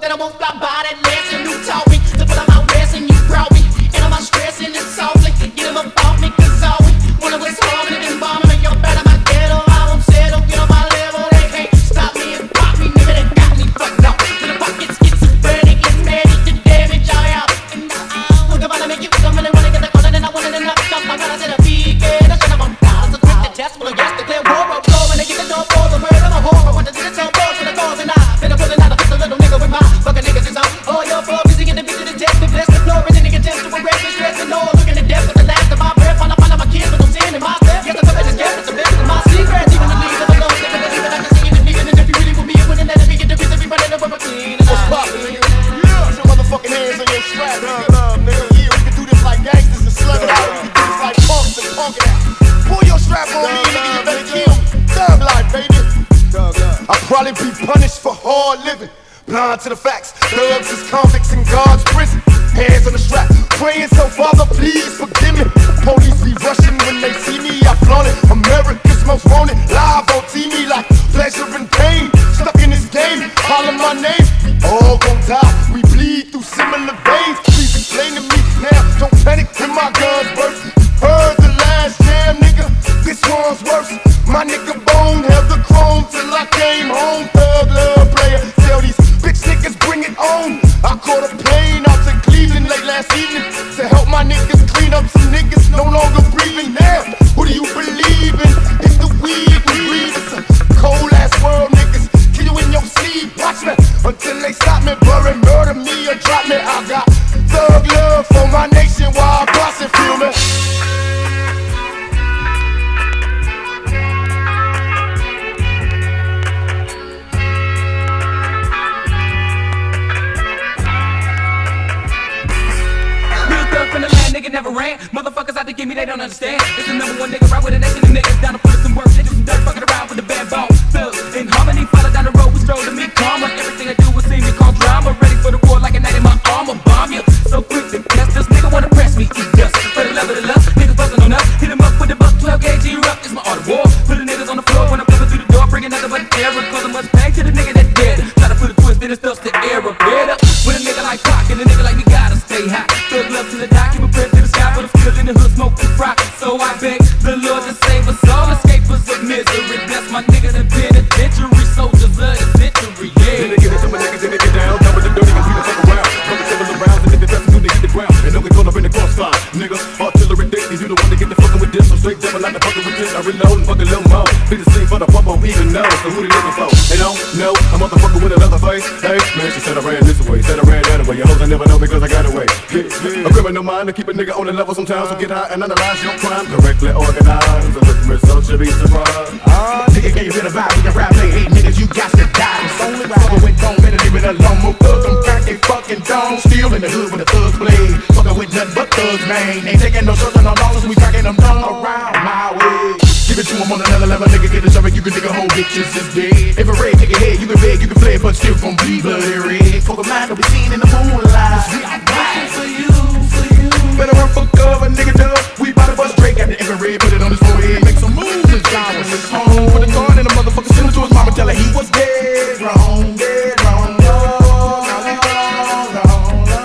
that I won't fly by that lesson. You taught me to put on my rest and you brought me. And I'm stressing it softly. Get him about me, cause all we wanted was harm and been bombing. And you're better my ghetto. I won't settle, get on my level. They can't stop me and pop me, nigga. They got me fucked up. To the pockets get schizophrenic, get mad at the damage I am. And I'm gonna make you come and wanna get the color, and I wanna knock up. I gotta set a peak, and I shut up on down. So quick to test, well, yes, declare war of blow. And they get the door for the word of a whore. I want to see the top for the cause, and I've been pulling out a pistol, little nigga with my fucking niggas is on. Oh, you're for busy getting the bitch to the test, to bless the floor, and then they can test to arrest me, stress and all. Looking to death for the last of my breath. Find out my kids, but no sin in my step. Yes, I thought I just guessed it's the best of my secrets. Even the leaves of a low step, and even I can see it in me. And if you really with me, you wouldn't let it be get the reason we running over clean. What's poppin', nigga? Yeah, put your motherfucking hands on your strap, nigga. Yeah, we can do this like gangsters and slug it out. We can do this like punks and punk it out. Pull your strap on me, nigga, you better kill me. Thug life, baby. I'll probably be punished for hard living. Blind to the facts, thugs is convicts in God's prison. Hands on the strap, praying so Father, please forgive me. Police be rushing when they see me, I flaunt it. America's most wanted, live on TV like pleasure and pain. Stuck in this game, holler my name. We all gon' die, we bleed through similar veins. Please explain to me now, don't panic when my guns burst. Heard the last jam, nigga, this one's worse. My nigga Bone held the chrome till I came home. Thug love player, tell these bitch niggas bring it on. I caught a plane out to Cleveland late last evening to help my niggas clean up some niggas no longer breathing. Now, who do you believe in? It's the weed we breathe. It's a cold ass world, niggas. Kill you in your sleep, watch me until they stop me, bury, murder me or drop me. I got thug love for my nation while I boss and feel me. Nigga never ran. Motherfuckers out to get me, they don't understand. It's the number one nigga right with a nation of niggas down to put in some work. They do some dirt fucking around with the bad bone. Thugs in harmony, follow down the road, we stroll to me karma. Everything I do will see me call drama. Ready for the war like a knight in my armor. Bomb you, so quick to test this nigga wanna press me, eat dust. For the love of the love, niggas bustin' on us. Hit him up with the buck, 12 gauge, erupt. It's my art of war. Put the niggas on the floor when I'm coming through the door, bringing nothing but terror. Causing much pain to the nigga that dead. Try to put a twist in his stuff's the era. Better with a nigga like Pac and a nigga like me gotta stay hot. Thug love to the die, keep a press to the sky, but I'm still in the hood, smoking rock. So I beg the Lord to save us all, escapers of misery. Bless my niggas in penitentiary, soldiers of the century, yeah. Then they give it to my niggas, then they get down, down with the dirty and we don't fuck around. Come and several rounds and if they test to hit the ground. And don't get caught up in the crossfire, nigga. Artillery dickies, you the one to get the fucking with this. I'm straight devil like the fucking with this. I reload and fuck a little more. Be the same for the pump, won't even know. So who they looking for? They don't know, a motherfucker with another face. Hey, man, she said I ran this way, said I ran that way. Your hoes I never know because I got away. A criminal mind to keep a nigga on the level sometimes. So get high and analyze your crime correctly organized. So the results should be surprised. Nigga, can you feel the vibe? We can rap, play, hate niggas, you got to die. It's only fucking with don't better leave it alone. More thugs, I'm crack, they fucking don't. Still in the hood with the thugs blade. Fucking with nothing but thugs, man. Ain't taking no shots on no dollars, we cracking them down around my way. Give it to him on another level, nigga, get a shovel, you can dig a whole bitches is dead. If a red, take a head, you can beg, you can fled, but still gon' bleed bloody red. Fuck a mind, don't be seen in the moonlight. We are dying for you, for you. Better run for cover, nigga, dub. We bout to bust Drake, got the infrared, put it on his forehead. Make some moves and shine when it's home. Put a gun in the motherfucker, send him to his mama, tell her he was dead wrong, dead wrong, wrong, wrong, wrong, wrong, wrong.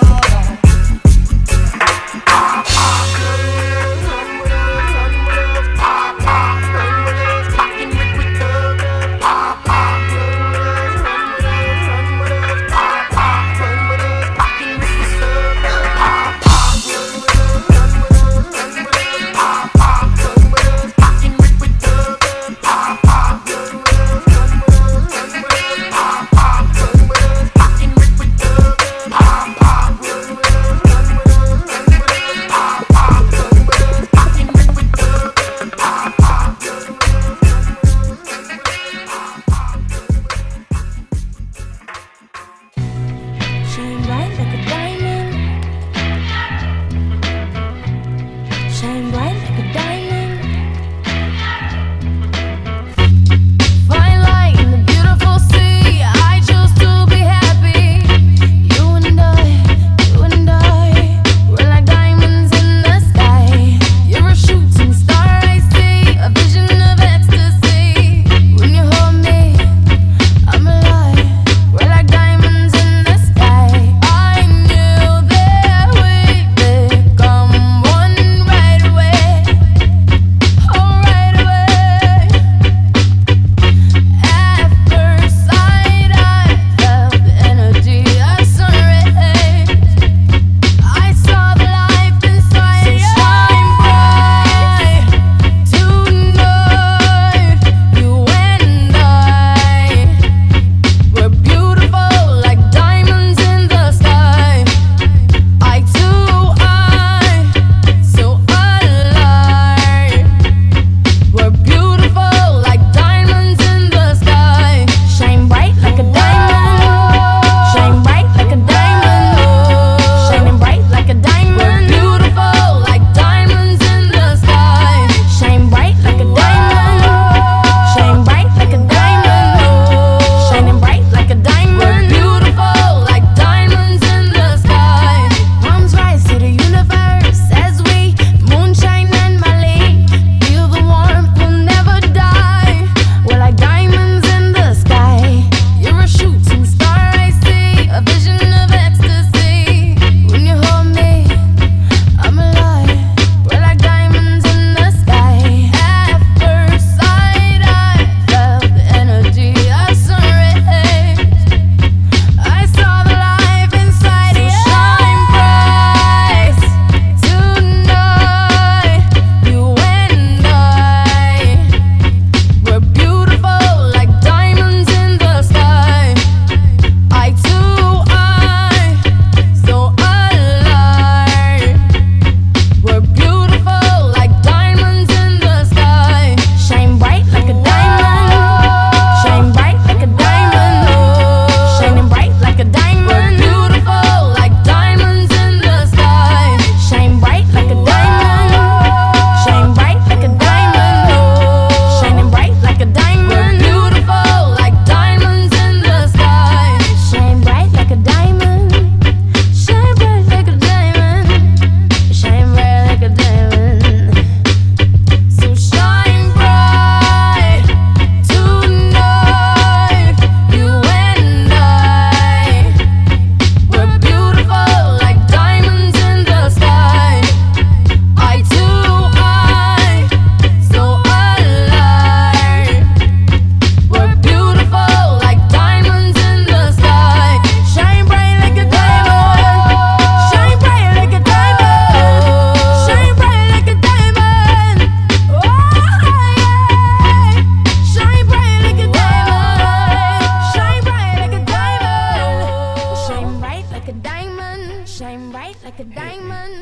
like a diamond.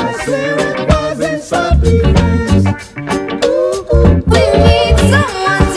We need someone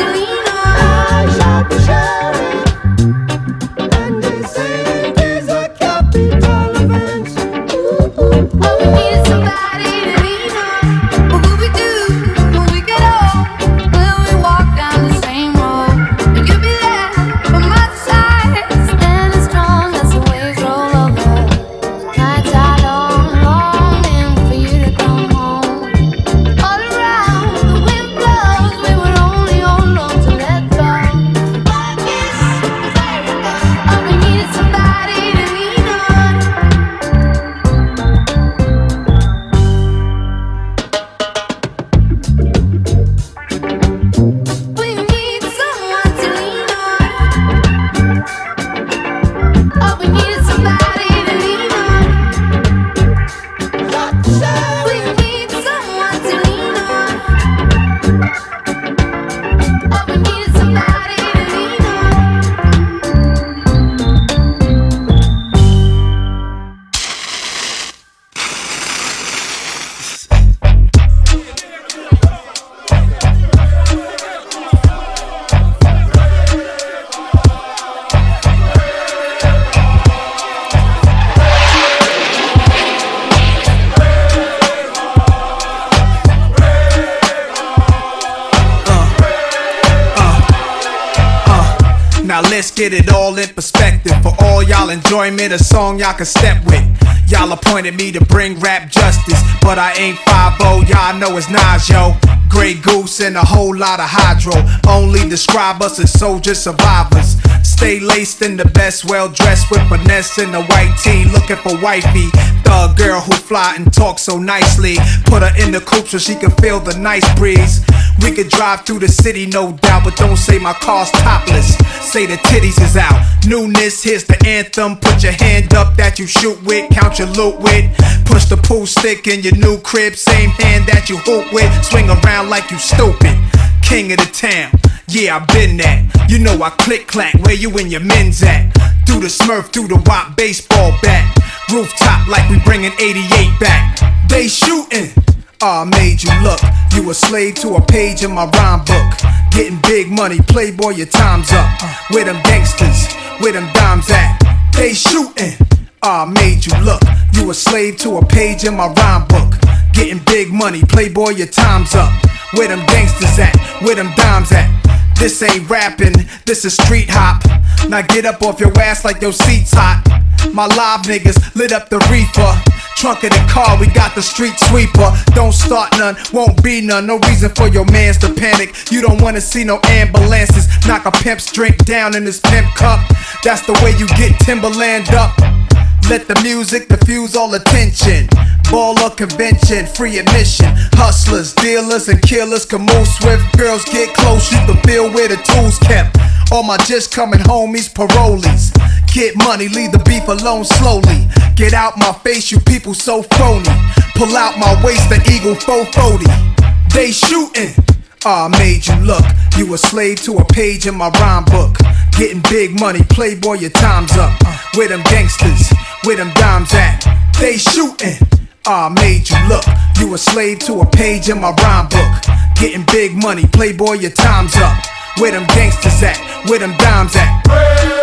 let's get it all in perspective. For all y'all enjoyment, a song y'all can step with. Y'all appointed me to bring rap justice, but I ain't 5-0, y'all know it's Nas, yo. Grey Goose and a whole lot of hydro. Only describe us as soldier survivors. Stay laced in the best, well dressed with finesse in the white tee, looking for wifey. Thug girl who fly and talk so nicely. Put her in the coupe so she can feel the nice breeze. We could drive through the city, no doubt, but don't say my car's topless. Say the titties is out. Newness, here's the anthem. Put your hand up that you shoot with, count your loot with. Push the pool stick in your new crib, same hand that you hoop with. Swing around like you stupid. King of the town, yeah, I been that. You know I click clack, where you and your men's at? Through the Smurf, through the Wop baseball bat. Rooftop like we bringing 88 back. They shooting. I made you look. You a slave to a page in my rhyme book. Getting big money, playboy, your time's up. Where them gangsters, where them dimes at? They shooting. I made you look. You a slave to a page in my rhyme book. Getting big money, playboy, your time's up. Where them gangsters at? Where them dimes at? This ain't rapping, this is street hop. Now get up off your ass like your seat's hot. My live niggas lit up the reefer. Trunk of the car, we got the street sweeper. Don't start none, won't be none. No reason for your mans to panic. You don't wanna see no ambulances. Knock a pimp's drink down in his pimp cup. That's the way you get Timberland up. Let the music diffuse all attention. Baller convention, free admission. Hustlers, dealers, and killers can move swift. Girls get close, you can feel where the tools kept. All my just coming homies, parolees. Get money, leave the beef alone slowly. Get out my face, you people so phony. Pull out my waist, the Eagle 440. They shooting. I made you look. You a slave to a page in my rhyme book. Getting big money, playboy, your time's up. Where them gangsters, where them dimes at? They shooting. I made you look. You a slave to a page in my rhyme book. Getting big money, playboy, your time's up. Where them gangsters at? Where them dimes at?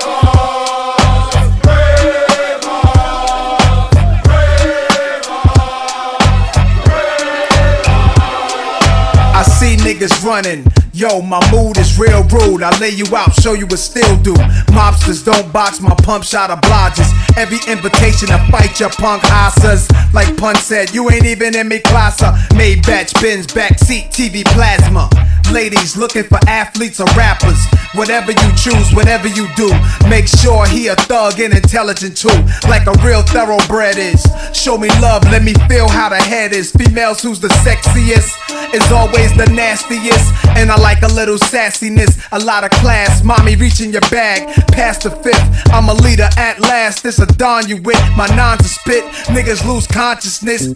I see niggas running. Yo, my mood is real rude. I lay you out, show you what still do. Mobsters don't box, my pump shot obliges. Every invitation to fight your punk asses. Like Pun said, you ain't even in me classa. Maybach, Benz, backseat, TV plasma. Ladies looking for athletes or rappers. Whatever you choose, whatever you do, make sure he a thug and intelligent too. Like a real thoroughbred is. Show me love, let me feel how the head is. Females who's the sexiest is always the nastiest. And I like a little sassiness, a lot of class. Mommy reaching your bag, past the fifth. I'm a leader at last, this a don you with. My nines to spit, niggas lose consciousness.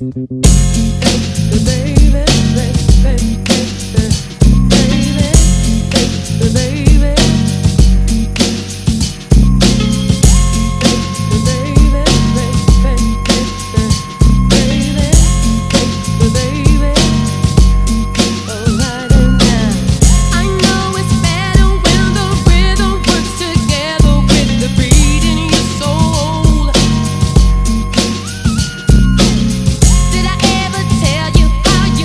Did I ever tell you how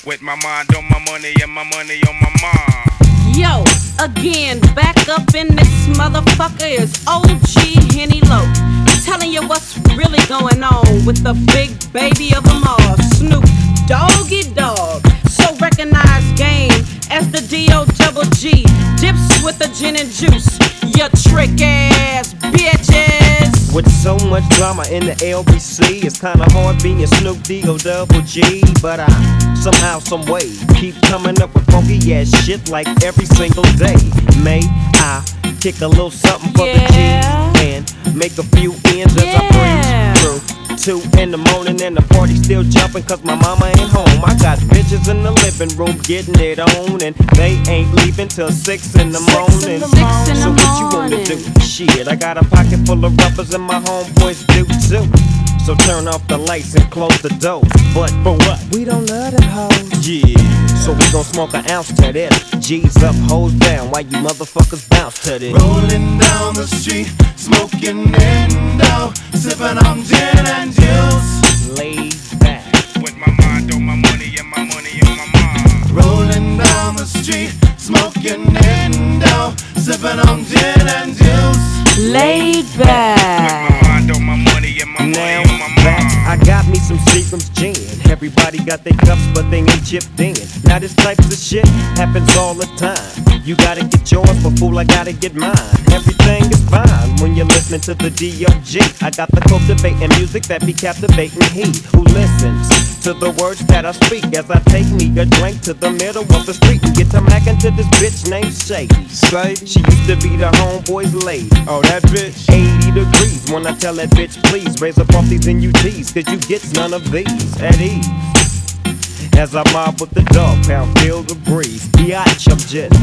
With my mind on my money and my money on my mind. Yo, again, back up in this motherfucker is OG Henny Low. Telling you what's really going on with the big baby of them all, Snoop Doggy Dogg. So recognize game as the D-O-double-G. Dips with the gin and juice, you trick ass bitches. With so much drama in the LBC, it's kinda hard being Snoop D-O-double-G. But I somehow, some way, keep coming up with funky ass shit like every single day. May I kick a little something for the G and make a few ends as I breeze through 2 in the morning and the party still jumping cause my mama ain't home. I got bitches in the living room getting it on and they ain't leaving till 6 in the morning. So what you wanna do? Shit, I got a pocket full of rubbers and my homeboys do too. So turn off the lights and close the doors. But for what? We don't love them hoes. Yeah. So we gon' smoke an ounce to this. G's up, hoes down, while you motherfuckers bounce to this. Rolling down the street, smoking Indo, sipping on gin and juice. Laid back. With my mind on my money and my money on my mind. Rolling down the street, smoking Indo, sipping on gin and juice. Laid With my back. mind on my money and my Now money on my back, mind. I got me some Seagram's gin. Everybody got their cups, but they ain't chipped in. Now this type of shit happens all the time. You gotta get yours, but fool, I gotta get mine. Everything is fine when you're listening to the D.O.G. I got the cultivating music that be captivating he who listens to the words that I speak as I take me a drink to the middle of the street and get to mackin' to this bitch named Shady. She used to be the homeboy's lady. Oh, that bitch. 80 degrees when I tell that bitch, please raise up off these NUTs, cause you get none of these at ease. As I mob with the dog pound, feel the breeze. Biatch, I'm just.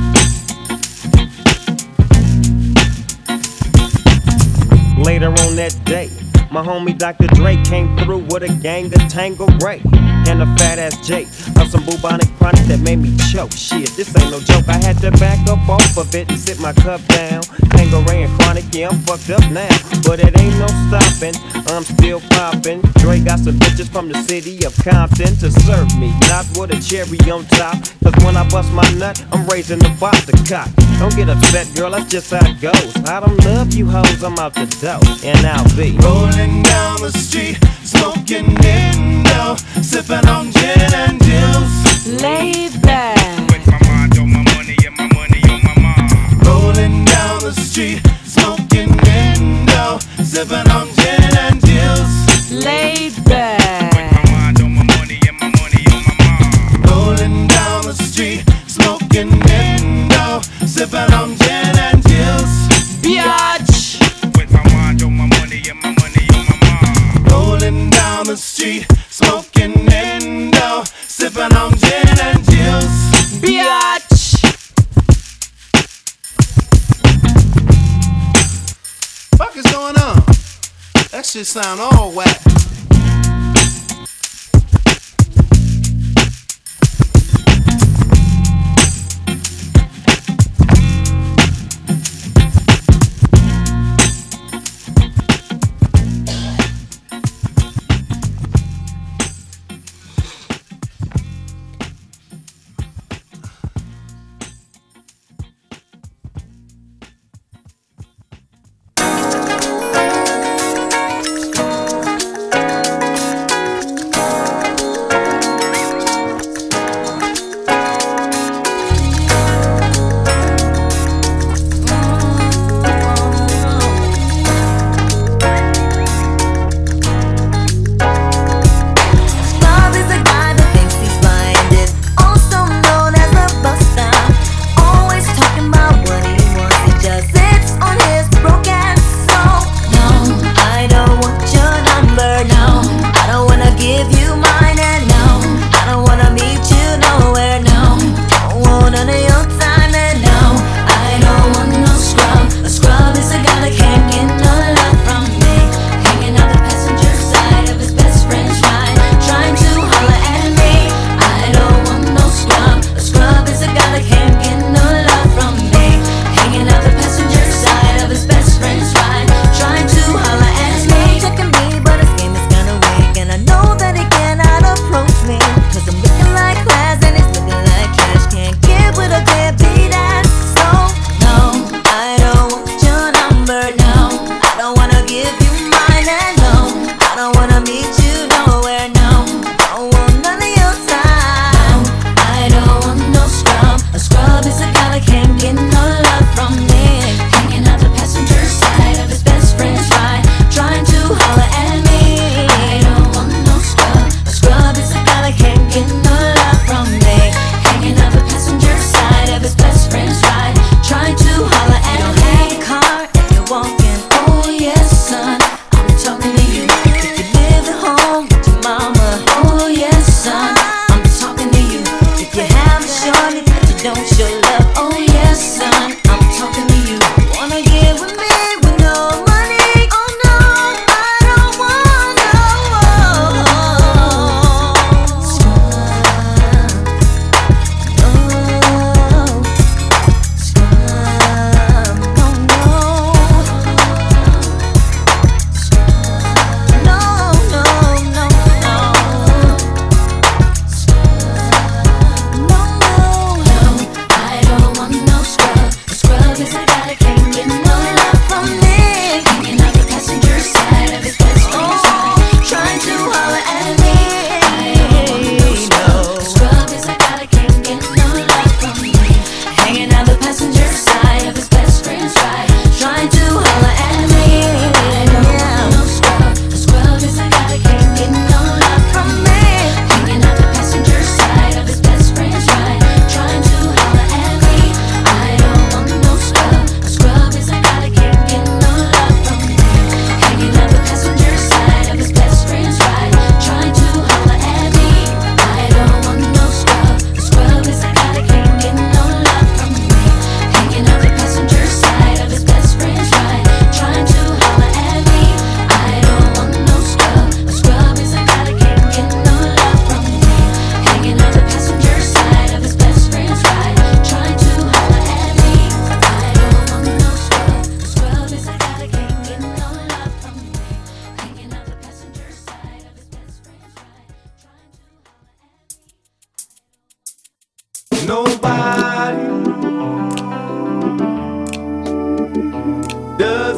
Later on that day, my homie Dr. Dre came through with a gang of Tangeray and a fat ass Jake of some bubonic chronic that made me choke. Shit, this ain't no joke. I had to back up off of it and sit my cup down. Tangeray and chronic, yeah, I'm fucked up now, but it ain't no stopping. I'm still popping. Dre got some bitches from the city of Compton to serve me, not with a cherry on top. Cause when I bust my nut, I'm raising the bar to cock. Don't get upset, girl, that's just how it goes. I don't love you hoes, I'm out the door, and I'll be Rolling down the street, smoking Indo, sipping on gin and juice. Laid back. With my mind on my money and my money on my mind. Rolling down the street, smoking Indo, sipping on gin and juice. Laid With back. my mind on my money and my money on my mind. Rolling down the street, smoking Indo, sipping on gin and juice. Biatch. With my mind on my money and my money on my mind. Rolling down the street, smoking Indo, sipping on gin and juice. Biatch. Fuck is going on? That shit sound all whack.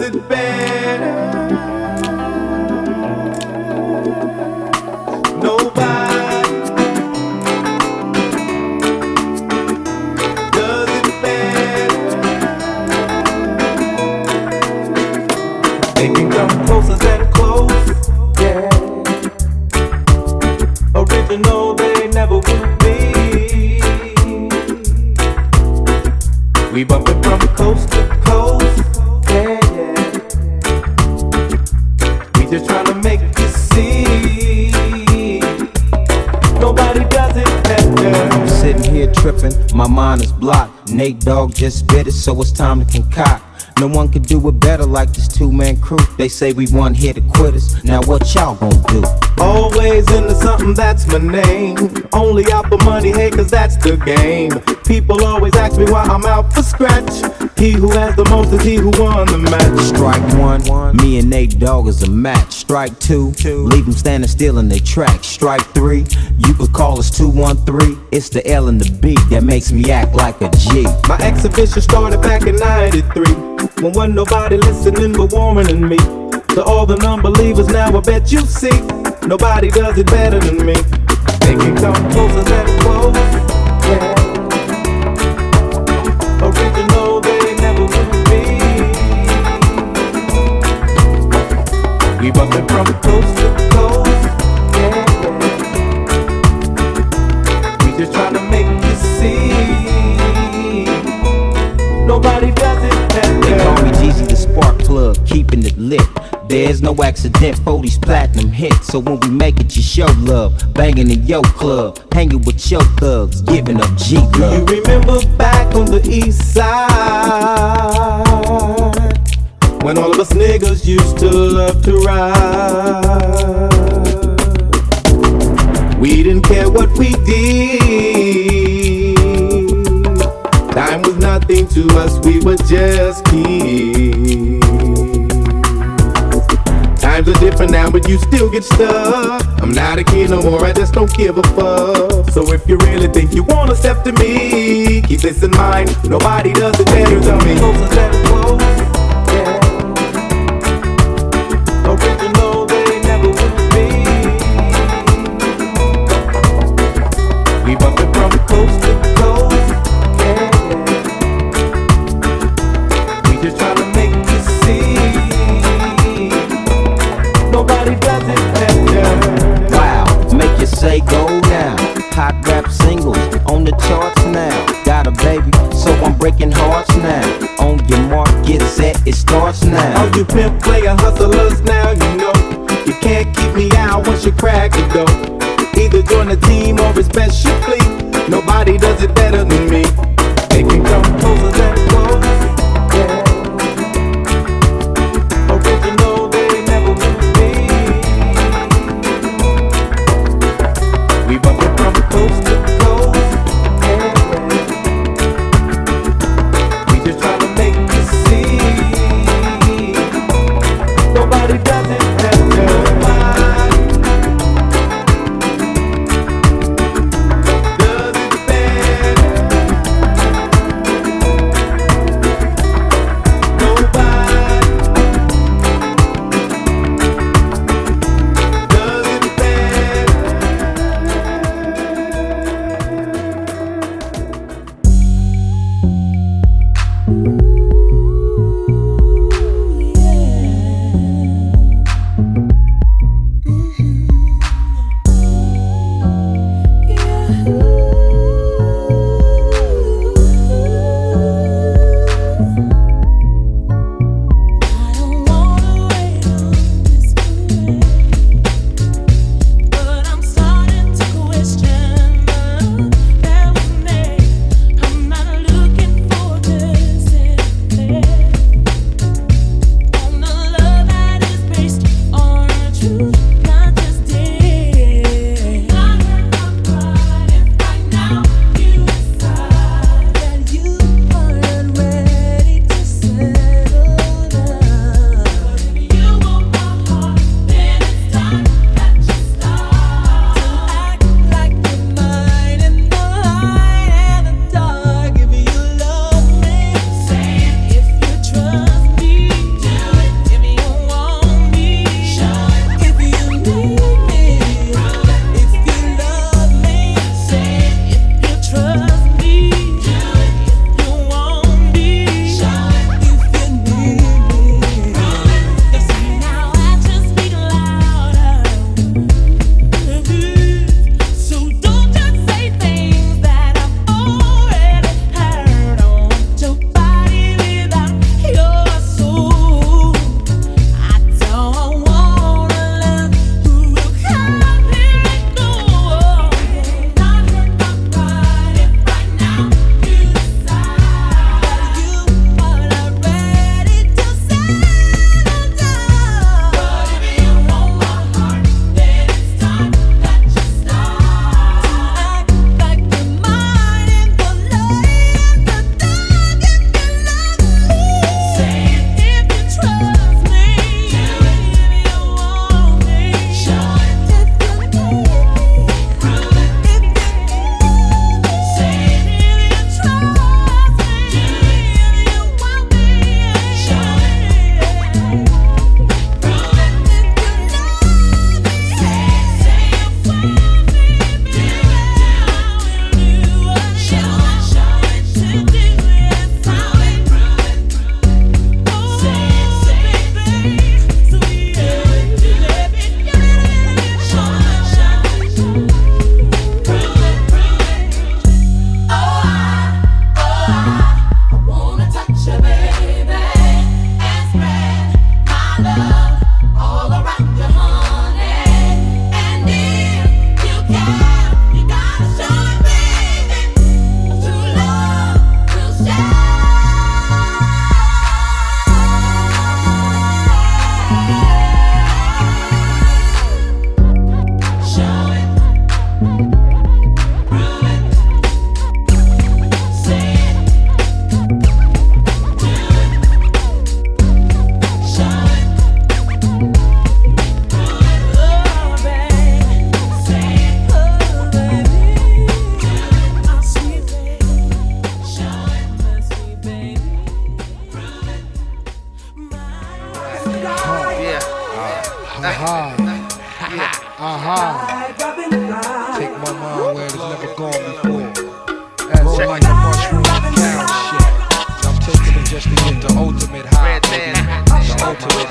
it better. Nobody does it better. They can come closer than close, yeah. Original they never would be. We bumpin' from coast to coast, yeah, yeah. We just tryna make you see. Nobody does it better. I'm sitting here tripping, my mind is blocked. Nate Dogg just spit it, so it's time to concoct. No one can do it better like this two-man crew. They say we one here to quit us. Now what y'all gon' do? Always into something, that's my name. Only out for money, hey, cause that's the game. People always ask me why I'm out for scratch. He who has the most is he who won the match. Strike one, me and Nate Dogg is a match. Strike two, leave them standing still in their tracks. Strike three, you could call us 213. It's the L and the B that makes me act like a G. My exhibition started back in '93, when wasn't nobody listening but Warren and me. To all the non-believers now I bet you see, nobody does it better than me. They can come closer than close, yeah. Original they never would be. We bumpin' from coast to coast, yeah. We just tryna make you see, nobody does it better. They call me Jeezy the spark plug, keeping it lit. There's no accident for these platinum hits. So when we make it, you show love. Banging in your club, hanging with your thugs, giving up G love. Do you remember back on the east side, when all of us niggas used to love to ride? We didn't care what we did. Time was nothing to us, we were just kids. Times are different now, but you still get stuck. I'm not a kid no more, I just don't give a fuck. So if you really think you wanna step to me, keep this in mind, nobody does it better than me. Closer than close, yeah. Original they never would be. We bumpin' from coast to coast, yeah. We just tryna make you see, nobody does it better. Wow, make you say go now. Hot rap singles on the charts now. Got a baby, so I'm breaking hearts now. On your mark, get set, it starts now. All you pimp player hustlers now, you know you can't keep me out once you crack the dough. Either join the team or it's best you flee. Nobody does it better than me. They can come closer than close, yeah. Original they never would be. We bumpin' from coast to coast, yeah. We just tryna make you see, nobody does it better. Does it better. Take my mind where it's never gone before. Roll like a mushroom cow shit. I'm taking it just to get the ultimate high, baby. The ultimate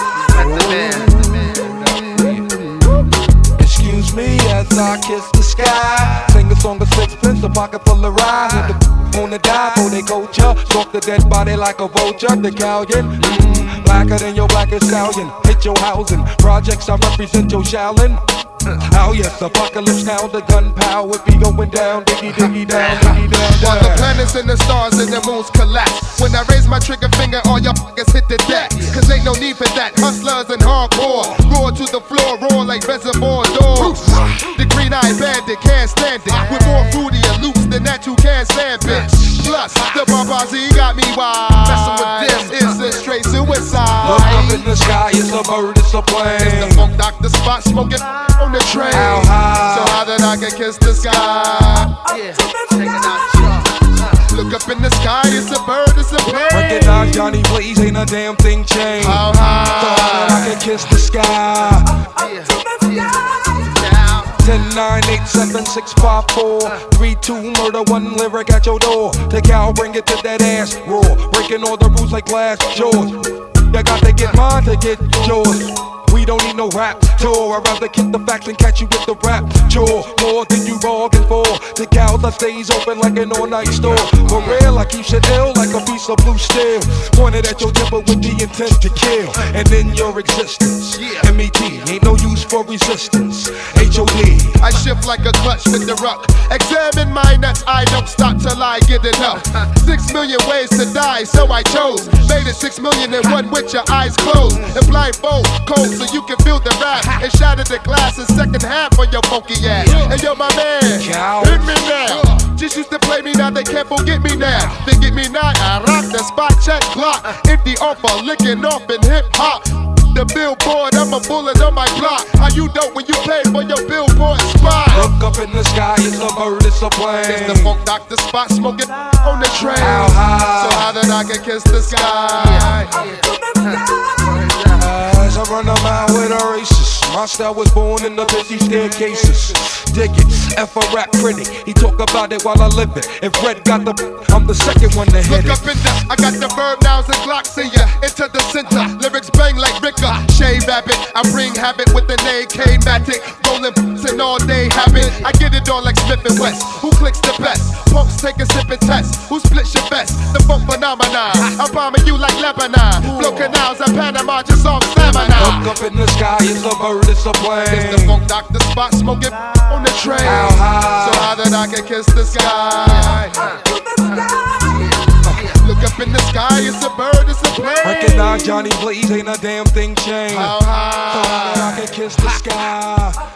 high. Excuse me as I kiss the sky. Sing a song of sixpence, a pocket full of rye. Who the wanna die for they culture? Stalk the dead body like a vulture. The Callion, blacker than your blackest stallion. Hit your housing, projects I represent your Shaolin. Oh yes, apocalypse now, the gunpowder be going down, diggy diggy down, diggy down, down. While the planets and the stars and the moons collapse. When I raise my trigger finger, all y'all fuckers hit the deck. Cause ain't no need for that. Hustlers and hardcore roar to the floor, roar like reservoir doors. The green-eyed bandit can't stand it. With more fruitier loops than that you can't stand, bitch. Plus, the Barbazi got me wild. Messing with this is a straight suicide. Look up in the sky, it's a bird, it's a plane. It's the Funk Doctor Spot smoking on the train. How high? So high that I can kiss the sky. Yeah, check it out. Look up in the sky, it's a bird, it's a plane. Recognize Johnny Blaze, ain't a damn thing changed. How high? So high that I can kiss the sky. 10, 9, 8, 7, 6, 5, 4, 3, 2, murder, 1 lyric at your door. Take out, bring it to that ass raw. Breaking all the rules like glass jaws. You got to get mine to get yours. We don't need no rap tour. I'd rather kick the facts and catch you with the rap chore. More than you bargained for. The cows I stays open like an all-night store. For real, I keep shit ill like a piece of blue steel. Pointed at your temper with the intent to kill. And in your existence, MET ain't no use for resistance. HOD. I shift like a clutch with the ruck. Examine my nuts, I don't stop till I get enough. 6 million ways to die, so I chose. Made it 6 million and one with your eyes closed. And blindfold, cold, so you can feel the rap. And shatter the glass in second half for your funky ass. And yo, my man, hit me now. Just used to play me, now they can't forget me now. They get me now, I rock the spot check clock. Empty offer, licking off in hip hop. The billboard, I'm a bullet on my block. How you dope when you pay for your billboard spot? Look up in the sky, it's a bird, it's a plane. It's the Funk Doctor Spot smoking on the train. How high? So high that I can kiss the sky. As I run a mile with a racist, my style was born in the busy staircases. Dig it, F a rap critic, he talk about it while I live it. If Red got the, I'm the second one to hit it. Look up in the, I got the verb nouns and glocks in ya. Into the center, lyrics bang like Ricker. Shea Rabbit, I bring habit with an AK-matic. Rolling and all day habit. I get it on like Smith and West. Who clicks the best? Punks take a sip and test. Who splits your best? The funk phenomenon. I'm bombing you like Lebanon. Blow canals at Panama, just off stamina. Look up in the sky, it's a bird, it's a plane. It's the Funk Doctor Spot smoking on the train. How high? So high that I can kiss the sky. Look up in the sky, it's a bird, it's a plane. Recognize Johnny Blaze, ain't a damn thing changed. How high? So high that I can kiss the sky.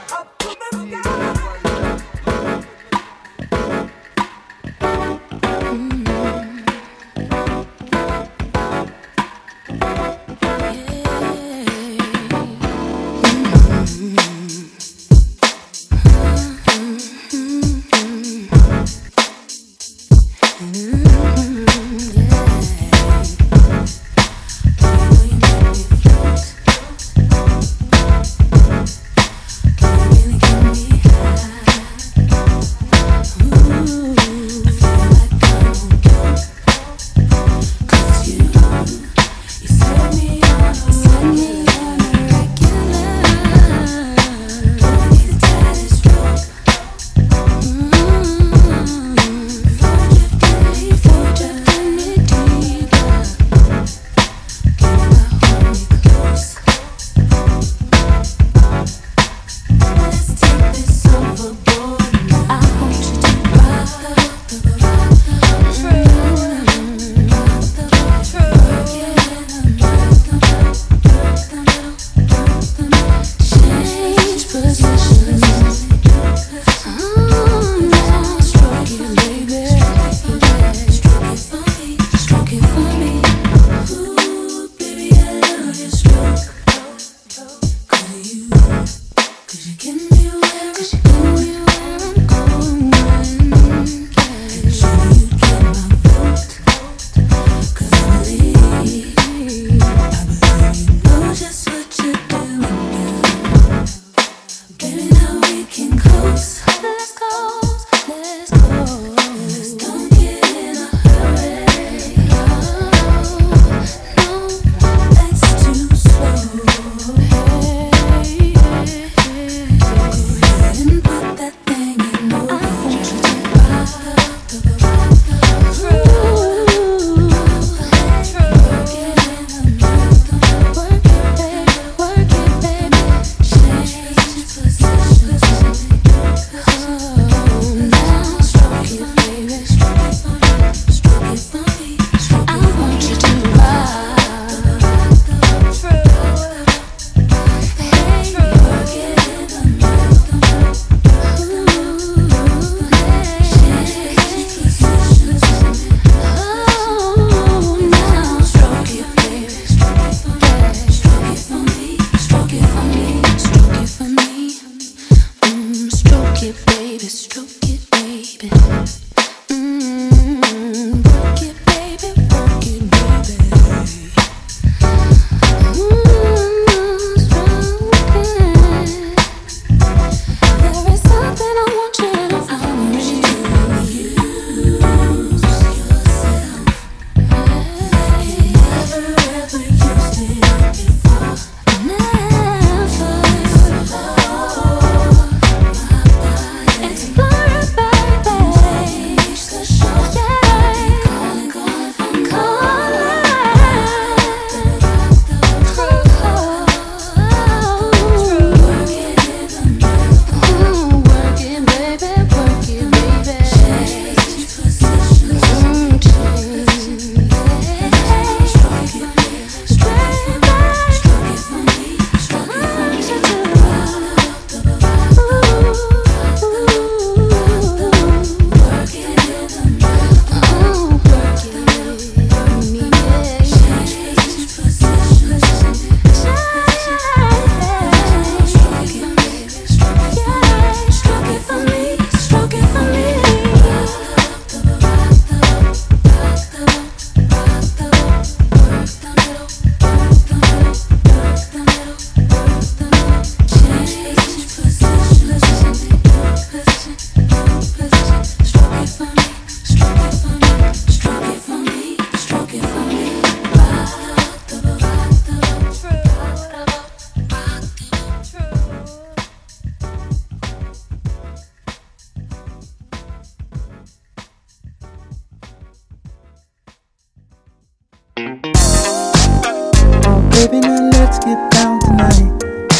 Baby, now let's get down tonight.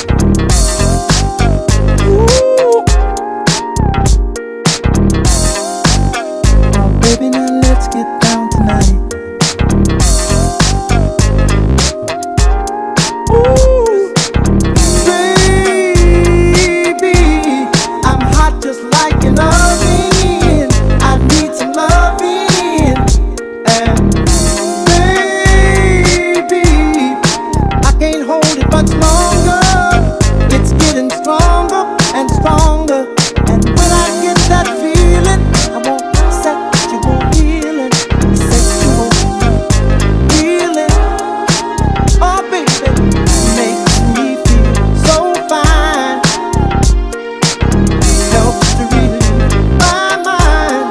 Ooh. Oh, baby, now let's get down tonight. Ooh. Baby, I'm hot just like an oven. I need some loving. And baby, I can't hold it much longer. It's getting stronger and stronger. And when I get that feeling, I want sexual healing. Sexual healing. Oh baby, makes me feel so fine. Helps to relieve my mind.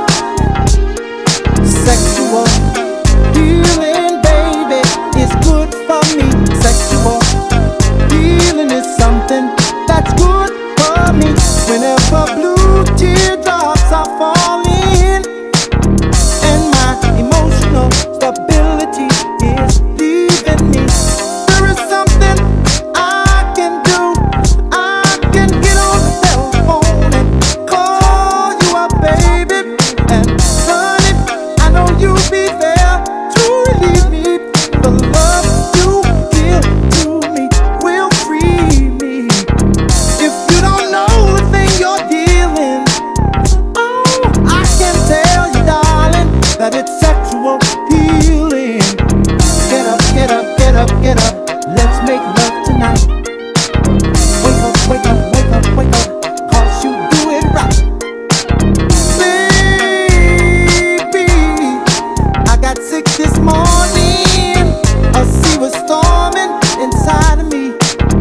Sexual healing, baby, is good for me. Sexual healing is something that's good for me. Whenever blue teardrops are falling and my emotional stability is leaving me, there is something I can do. I can get on the telephone and call you up, baby. And honey, I know you'll be there to relieve me. The love you give to me will free me. If you don't know the thing you're dealing, oh, I can tell you, darling, that it's sexual healing. Get up, get up, get up, get up. Let's make love tonight. Wake up, wake up, wake up, wake up, 'cause you do it right. Baby, I got sick this morning. A sea was storming inside of me.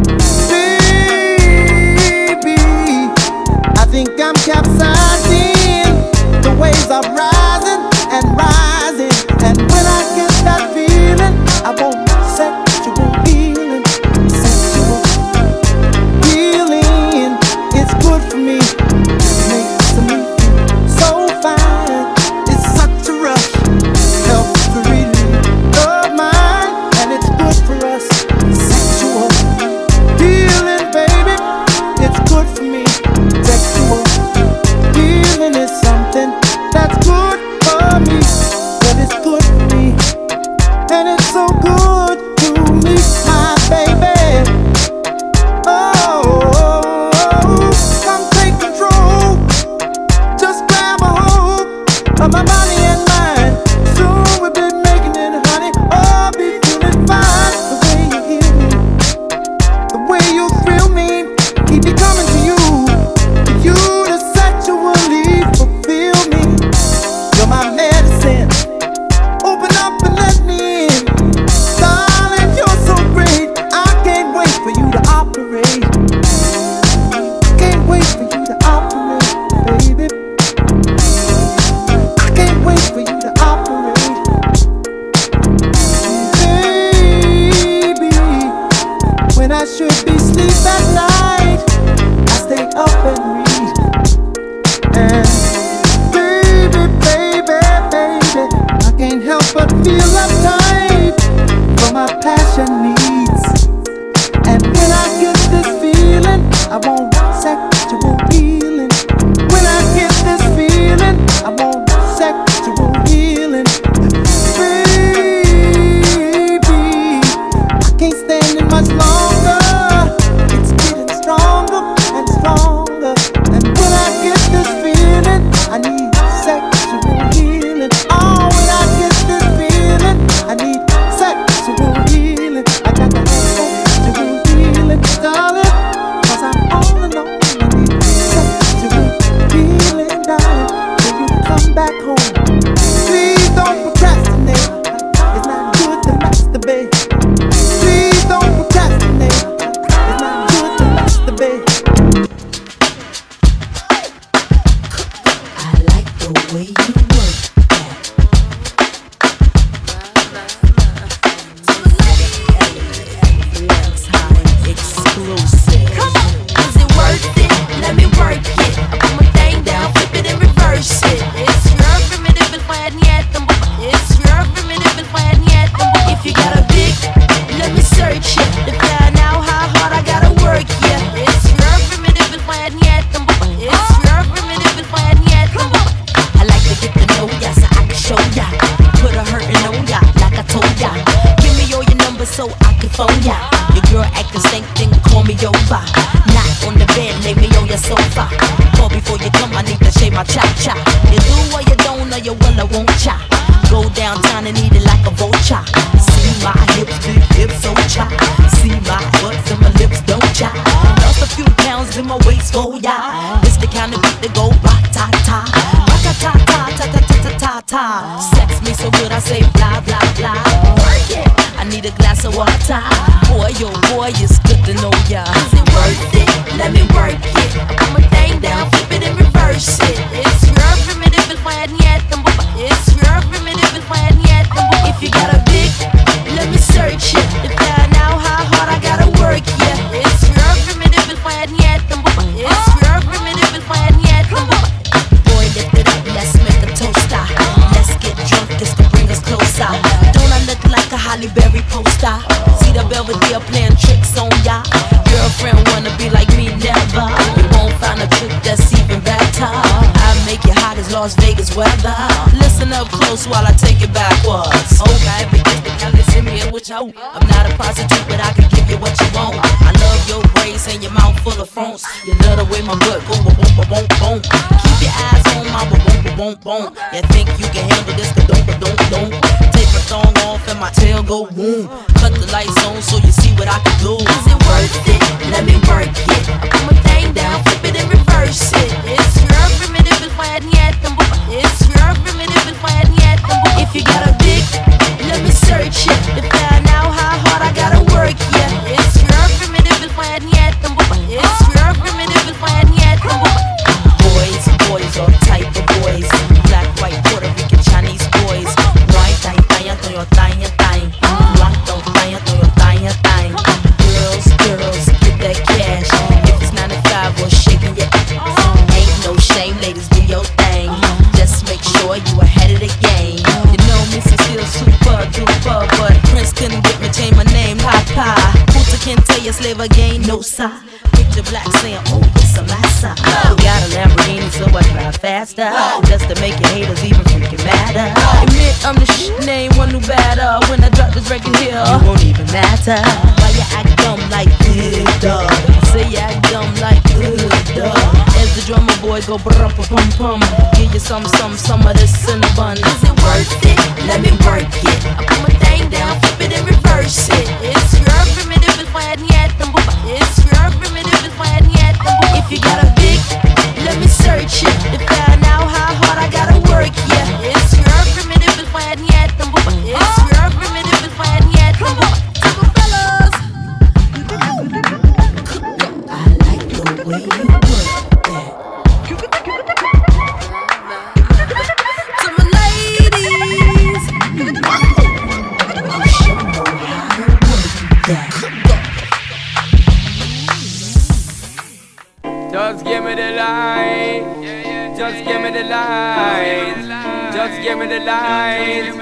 Baby, I think I'm capsizing. The waves are rising and rising. And when I get that feeling, I want sexual healing. Sexual healing is good for me. Makes me feel so fine. It's such a rush. Helps to relieve the mind, and it's good for us. Sexual healing, baby, it's good for me. Sexual healing is something that's good for me. Well, it's good for me, and it's so good to me, my baby. Oh, come take control. Just grab a hold of my body and mind. Soon we'll be making it, honey. Oh, be feeling fine. The way you heal me, the way you thrill me, keep me coming to you. For you to sexually fulfill me. You're my medicine. Open up and let me in. Darling, you're so great. I can't wait for you to operate. Can't wait for you to operate, baby. I can't wait for you to operate. Baby, when I should be asleep at night, I stay up and read. And baby, baby, baby, I can't help but feel uptight for my passion needs. And when I get this feeling, I want sexual healing. When I get this feeling, I want sexual healing. Baby, I can't stand it much longer. It's getting stronger and stronger. And when I get this feeling, I need sexual healing. Oh, when I get this feeling, I need sexual healing. I got to have sexual healing. looking for ya. Your girl acting stank, then call me over. Not on the bed, lay me on your sofa. Call before you come, I need to shave my cha-cha. You do or you don't, or you will or won't cha. Go downtown and eat it like a vulture. See my hips, big hips, so cha. See my butts and my lips, don't cha. Lost a few pounds in my waist, oh yeah. This the kind of beat that go ra-ta-ta. Ra-ta-ta-ta-ta-ta-ta-ta-ta. Sex me so good I say blah, blah, blah. Work it. I need a glass of water. Boy, oh boy, it's good to know ya. Is it worth it? Let me work it. I put my thing down, flip it and reverse it. It's your primitive and fine yet. It's your primitive and fine yet. If you got a big, let me search it. To find out how hard I gotta work, yeah. It's your primitive and fine yet. It's your primitive and fine yet. Boy, lift it up, let's make a toaster. Let's get drunk, this can bring us closer. Don't I look like a Halle Berry poster? See the Belvedere playing tricks on ya. Girlfriend wanna be like me, never. You won't find a trick that's even better. I make it hot as Las Vegas weather. Listen up close while I take it backwards. Okay, because the Cali send me in which I'm not a prostitute, but I can give you what you want. I love your braids and your mouth full of phones. You love the way my butt go boom, boom, boom, boom. Keep your eyes on my boom, boom, boom, boom. You think you can handle this? Don't. Take my thong off and my tail go boom. Cut the lights on so you see what I can do. Is it worth it? Let me work it. I put my thing down, flip it and reverse it. It's your primitive and fine yet. It's your primitive and fine yet. If you got a big, let me search it. To find out how hard I gotta work, yeah. It's your primitive and fine yet. It's your primitive and fine yet. Boys, all type of boys. Black, white, Puerto Rican, Chinese boys. White, tanya, toyo, tanya, tanya. Black, don't tanya, toyo, tanya, tanya. Girls, get that cash. If it's 95 or shaking your ass. Ain't no shame, ladies, do your thing. Just make sure you ahead of the game. You know Missy still super duper, but Prince couldn't get me change my name. Papa, Puta can tell you slave again, no sir. Picture black saying, oh, it's a massa. Got a Lamborghini, so I drive faster. Just to make your haters even freaking madder. Admit I'm the shit, name one new batter. When I drop this record here, it won't even matter. Why you act dumb like dog? Say you act dumb like dog. As the drummer boy go brum pum pum. Give you some of this cinnabon. Is it worth it? Let me work it. I put my thing down, flip it and reverse it. It's your primitive and fine yet. It's your primitive and fine yet. If you got a big, let me search it. To find out how hard I gotta work, yeah. It's your primitive and fine yet. It's your primitive and fine yet. Fellas, I like the way you work that. To my ladies, you should know how to work that. Just give me the light. Just give me the light. Just give me the light.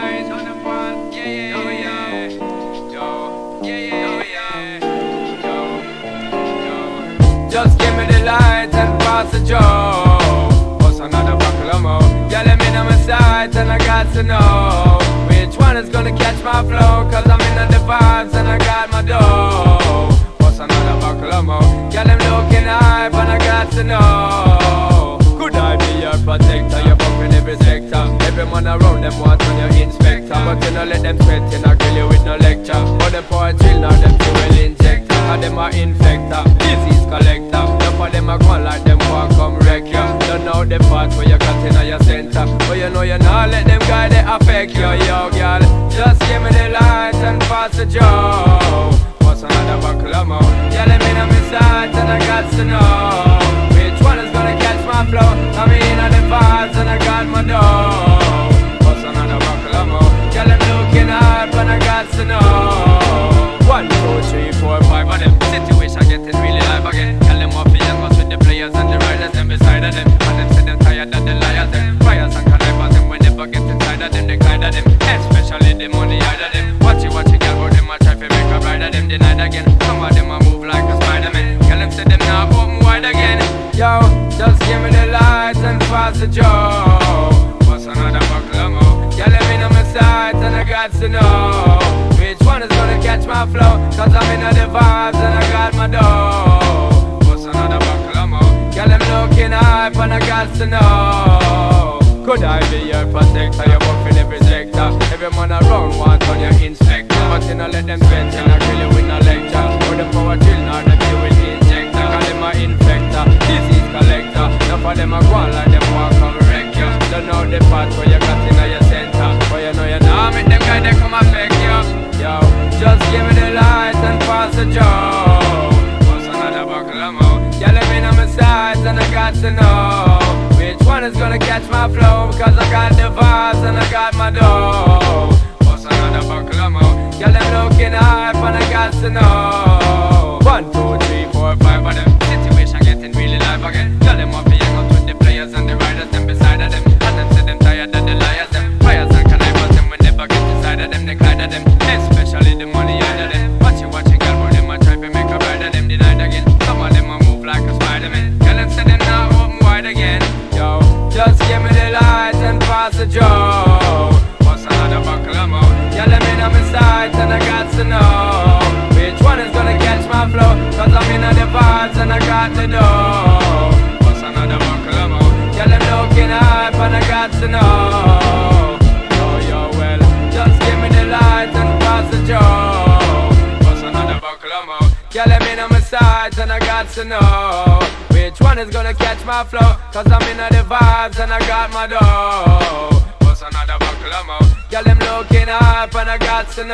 Just give me the light and pass the joe. What's another buckle of more? Yeah, let me know my sight and I got to know which one is gonna catch my flow. Cause I'm in the vibes and I got my dough. What's another buckle of more? Yeah, them looking hype and I got to know. Could I be your protector? You're bumping every sector. Every man around them want on your inspector. But you know let them sweat, you know kill you with no lecture. But them poor chill now, them fuel injector. And them are infector, disease collector. Enough of them are gone like them want come wreck you. Don't know the part where you got in your center. But you know you not let them guys they affect you, yo girl. Just give me the light and pass the joe. What's another buckle of more? Yeah, let me know my sight and I got to know which one is gonna catch my flow. I'm in on the vibes and I got my dough. What's another buckle of more? Yeah, I'm looking up and I got to know 1, 2, 3, 4, 5 of them. Situation getting really live again. Tell them what feeling goes with the players and the riders them beside of them. And them say them tired of the liars them. Fires and connivers them when they forget inside of them. They glide of them, especially the money out of them. Watch it, girl, but them a try to make a bride of them. Denied again. Some of them a move like a Spider-Man. Tell them say them now open wide again. Yo, just give me the light and pass the joe. What's another buckle of more? Yeah, let me know my sight and I got to know which one one is gonna catch my flow? Cause I'm in the vibes and I got my dough. What's another buckle of more? Girl, I'm looking hype and I got to know. Could I be your protector? You're buff in every sector. Every man around want on your inspector. But you know let them vent and I kill you with no lecture. Or the power drill now that you will injector. Call them a infector, disease collector. Enough of them a go on like them walk come wreck you. Don't know the part where you got in your center. But you know you now make them guys they come affect you. Yo, just give me the light and pass the joe. What's another buckle of more? Yeah, let me know my sides and I got to know which one is gonna catch my flow. Cause I got the vibes and I got my dough. What's another buckle of more? Yeah, them looking hype and I got to know. 1, 2, 3, 4, 5 of them. Situation getting really live again. Tell them off the hang out with the players and the riders, them beside of them. And them say them tired of the liars, them fires and connivers, them we never get inside of them, they glide of them. Especially the money out of them. Watching girl, but them a try to make a bride of them denied again. Some of them a move like a Spider-Man. Tell them say them now open wide again. Yo, just give me the light and pass the joe. What's another buckle of more? Yeah, let me know my sides and I got to know which one is gonna catch my flow. Cause I'm in the vibes and I got the dough. What's another buckle of more? Yeah, them looking hype and I got to know. Oh, yo, well, just give me the light and pass the joe. What's another buckle of more? Yeah, let me know my sides and I got to know which one is gonna catch my flow. Cause I'm in the vibes and I got my dough. What's another buckle of more? Yeah, them looking up and I got to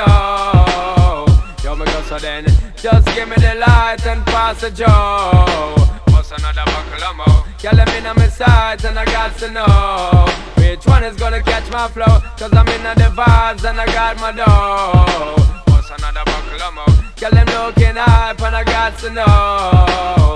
know. Yo, me go so then, just give me the light and pass the joe. What's another buckle of more? Yeah, let me know my sides and I got to know which one is gonna catch my flow. Cause I'm in the vibes and I got my dough. What's another buckle of more? Yeah, them looking up and I got to know.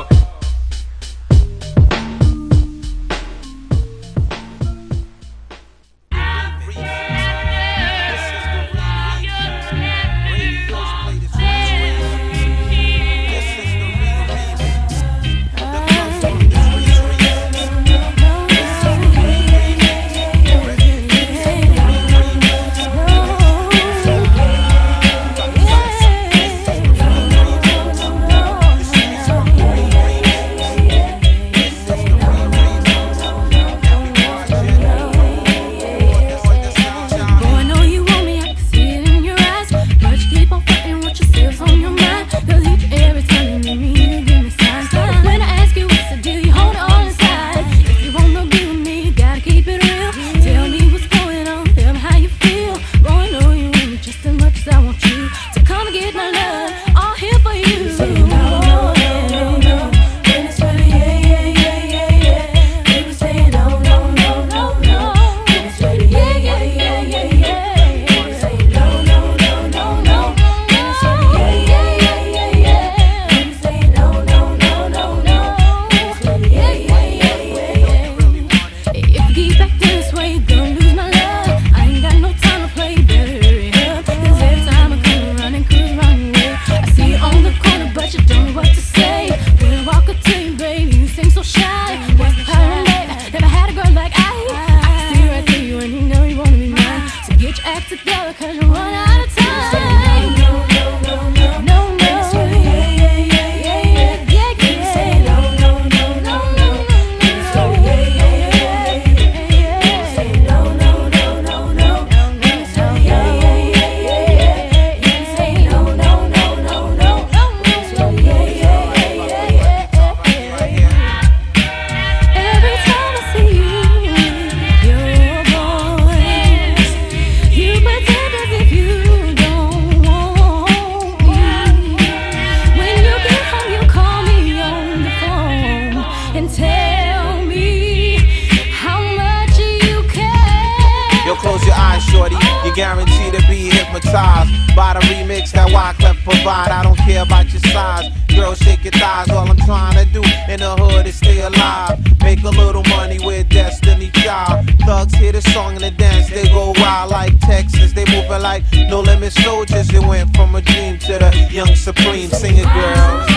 Guaranteed to be hypnotized by the remix that Wyclef provide. I don't care about your size, girl, shake your thighs. All I'm trying to do in the hood is stay alive. Make a little money with Destiny Child. Thugs hear the song and the dance, they go wild like Texas. They moving like No Limit Soldiers. It went from a dream to the Young Supreme. Sing it, girls.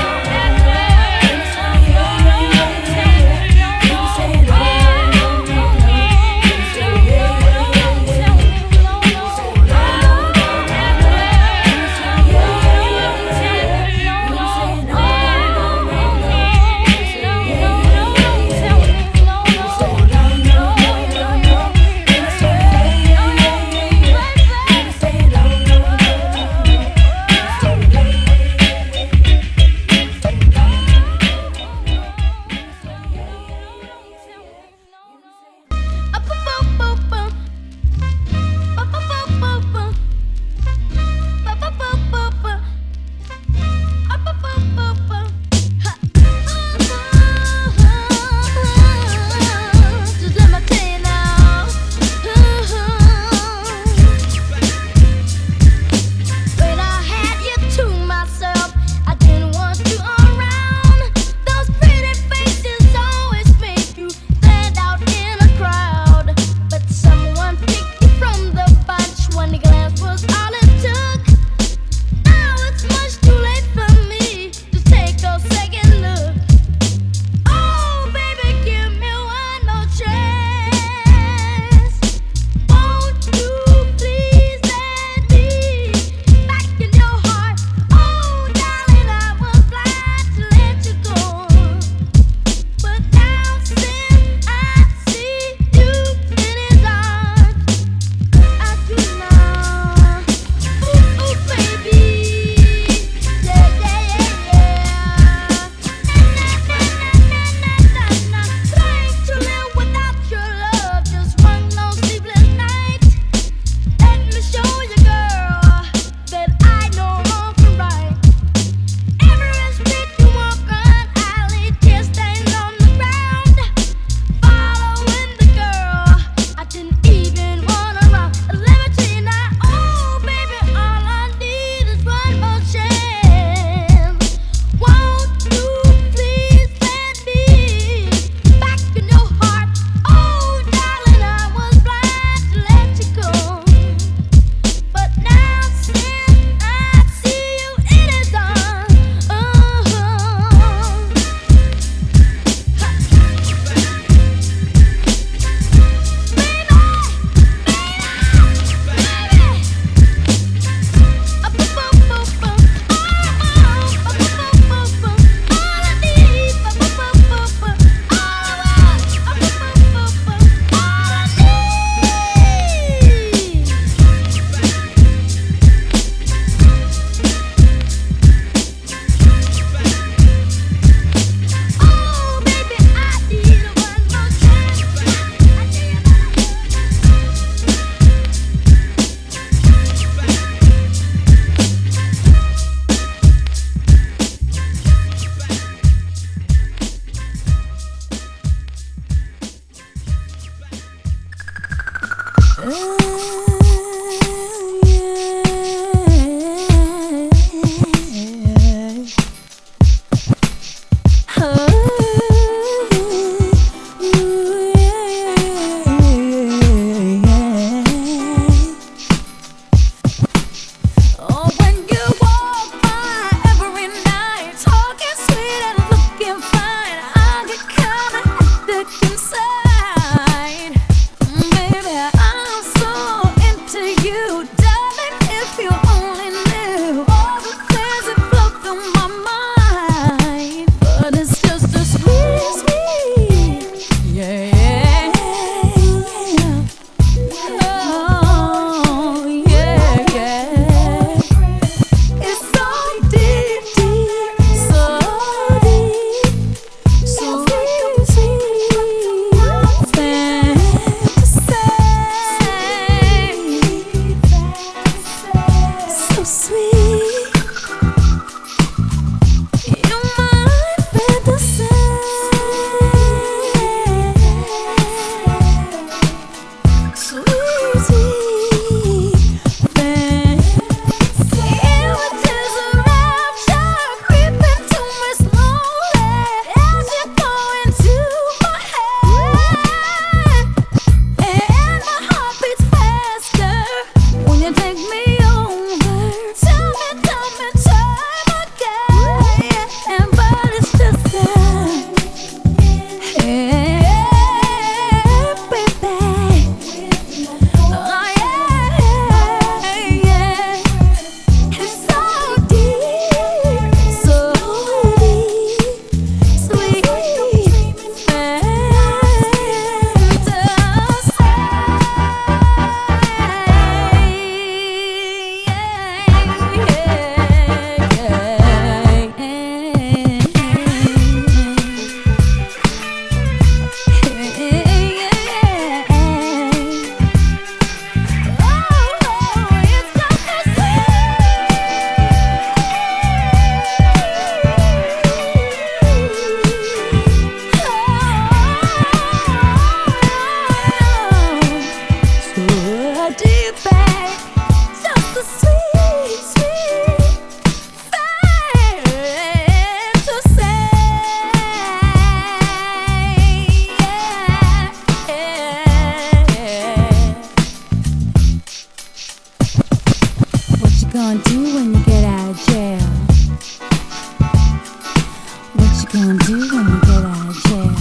gonna do when you get out of jail?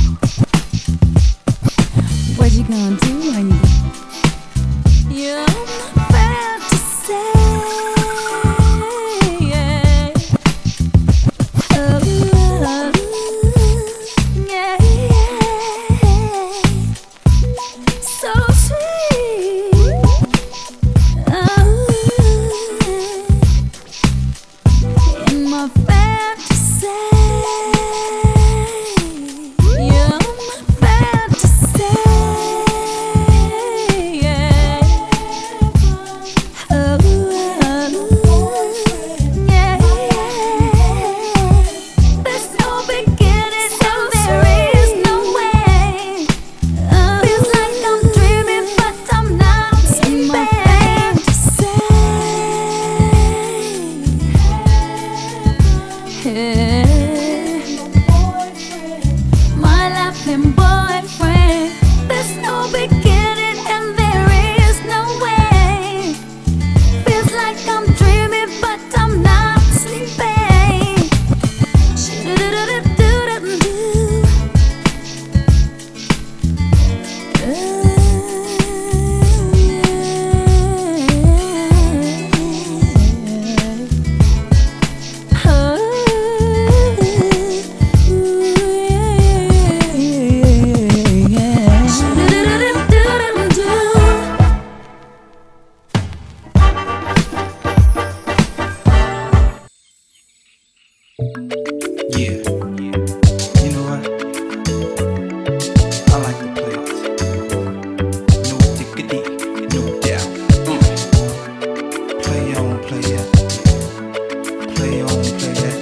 What you gonna do when you You're my fantasy. Yeah. Oh, yeah, yeah. So sweet. Oh, in my fantasy. You're my fantasy. Yeah. Oh, yeah. There's no beginning, so there is no way. Feels like I'm dreaming, but I'm not sleeping. My laughing boyfriend. There's no beginning and there is no way. Feels like I'm dreaming, but I'm not sleeping. Yeah. You know what? I like to play it. No diggity, no doubt. Play on, play that. Play on, play that.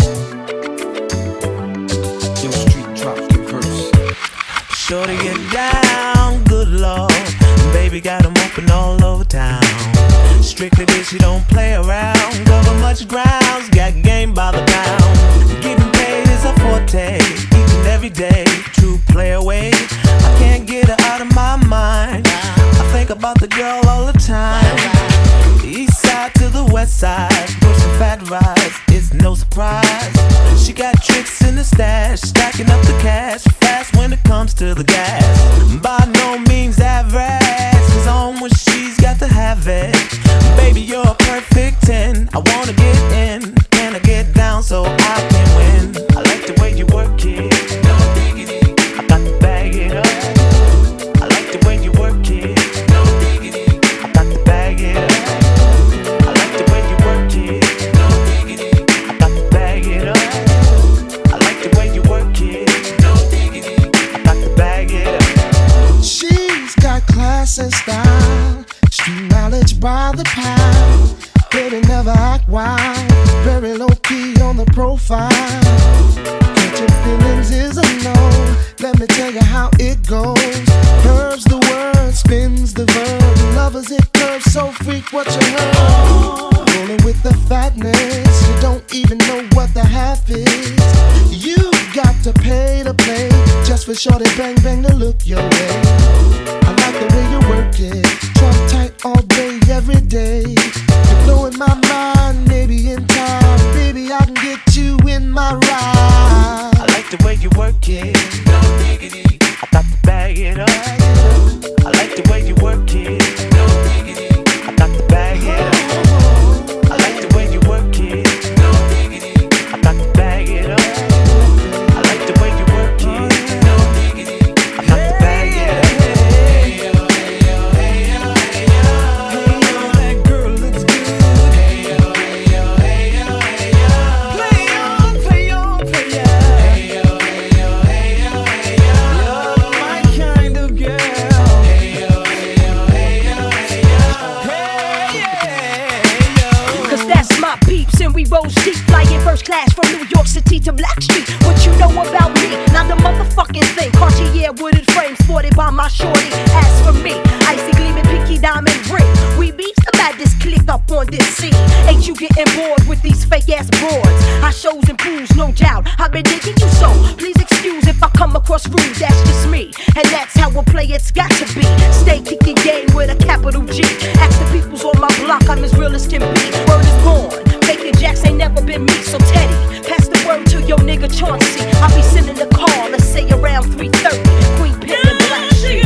Yo, street drop the verse. Shorty get down, good lord. Baby got 'em open all over town. Strictly bitch, you don't play around. Cover much grounds, got game by the pound. Getting paid is a forte, each and every day. True play away, I can't get her out of my mind. I think about the girl all the time. East side to the west side, pushing fat rides, it's no surprise. She got tricks in the stash, stacking up the cash, fast when it comes to the gas. By no means average, cause on when she's got to have it. Baby, you're a perfect 10, I wanna get in. Can I get down so I can win? I like the way you work it, no diggity. I got to bag it up. I like the way you work it, no diggity. I got to bag it up. I like the way you work it, no diggity. I got to bag it up. I like the way you work it, no diggity. I got to bag it up. She's got class and style, street knowledge by the pound. Baby never act wild, very low key on the profile. Catching feelings is a no, let me tell you how it goes. Curves the word, spins the verb, lovers it curves so freak what you heard. Rolling with the fatness, you don't even know what the half is. You got to pay to play, just for shorty bang bang to look your way. I like the way you work it, trump tight all day, every day. You're blowing my mind, maybe in time, baby I can get you in my ride. I like the way you work it, no diggity. I got to bag it up. I like the way you work it, no diggity. I got to bag it up. I like the way you work it, no diggity. I got to bag it up. I like the way you work it, no diggity. I got to bag it up. Hey yo, hey yo, hey yo, hey yo. Hey yo, that girl looks good. Hey yo, hey yo, hey yo, hey yo. Play on, play on, play on. Hey yo, hey yo, hey yo, hey yo. You're my kind of girl. Hey yo, hey yo, hey yo, hey yo. Hey yo. Cause that's my peeps and we roll steep, flying first class from New York City to Blackstreet. What you know about me? Not the motherfucking thing. Cartier wooded frame sported by my shorty. As for me, icy gleaming pinky diamond ring. We beats the baddest click up on this scene. Ain't you getting bored with these fake ass broads? Our shows and pools, no doubt. I've been digging you so. Please excuse if I come across rude. That's just me, and that's how a play it's got to be. Stay kicking game with a capital G. Ask the peoples on my block, I'm as real as can be. Word is born. Faking Jacks ain't never been me, so Teddy, pass the word to your nigga nigga Chauncey. I'll be sending a call, let's say around 3:30. Queen Pen and Black Sheep.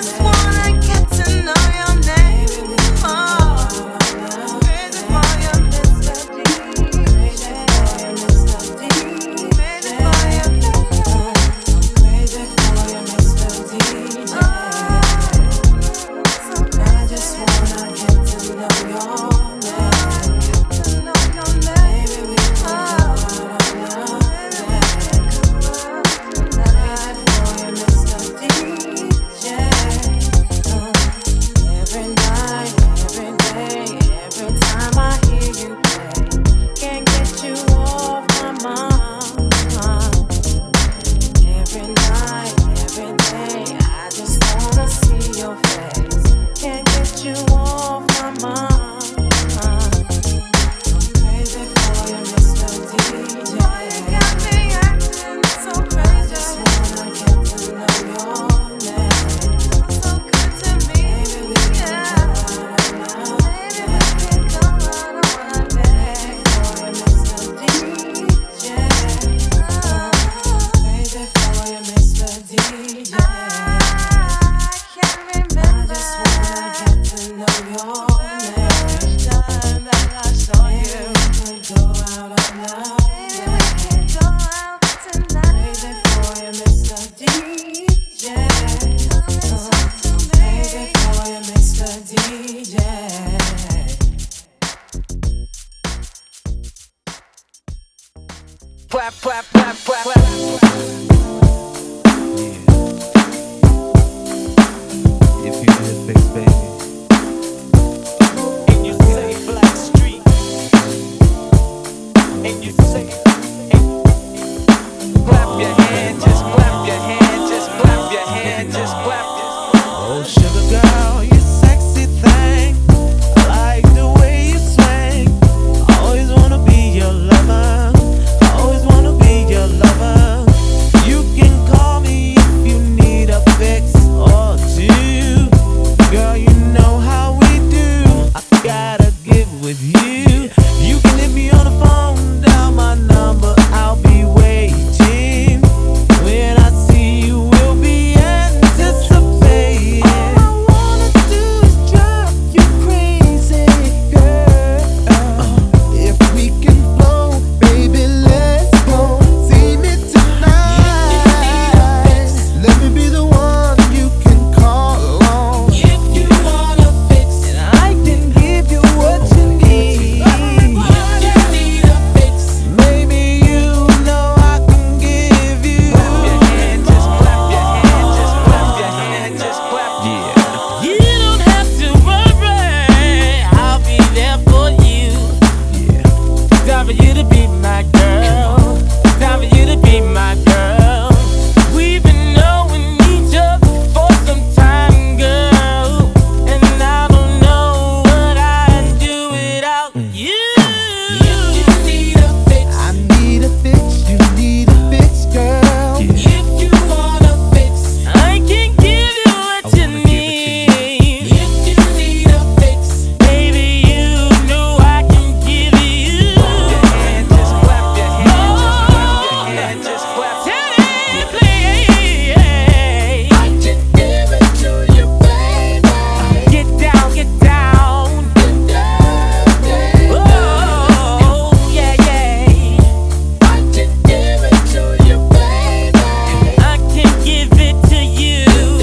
Crazy for your Clap, clap, clap, clap, clap. If you need a fix, baby. And you say Black Street. And you say, clap your hand, just clap your hand, just clap your hand, just clap your hand. Oh, sugar girl, you sexy thing. I like the way you swing. I always wanna be your lover. I always wanna be your lover. You can call me if you need a fix or two. Girl, you know how we do. I gotta get with you. You can hit me on the phone, dial my number, I'll be waiting. When I see you, we'll be anticipating. All I wanna do is drive you crazy, girl. If we can flow, baby, let's go. See me tonight. Let me be the one you can call on. If you wanna fix, And I can give you what you need. if you need a fix, Maybe you know I can give you. clap your hand, just clap your hand, just clap your hand, just clap. You don't have to worry, I'll be there for you. Time for you to be my girl. Time for you to be my girl. We've been knowing each other for some time, girl. And I don't know what I'd do without you. If you need a fix, I need a fix, you need a fix, girl. if you wanna fix, I can give you what you need. if you need a fix, Baby, you know I can give you. hand, just clap your hand, just clap your hand, just clap. I can give it to you, baby. Get down, get down. Oh, yeah, yeah. I can give it to you, baby. I can give it to you.